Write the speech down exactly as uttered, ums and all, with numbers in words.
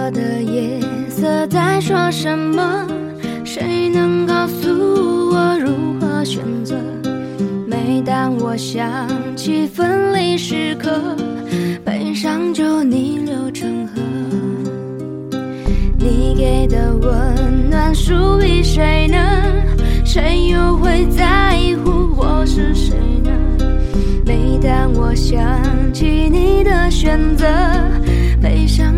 色的夜色在说什么？谁能告诉我如何选择？每当我想起分离时刻，悲伤就逆流成河。你给的温暖属于谁呢？谁又会在乎我是谁呢？每当我想起你的选择，悲伤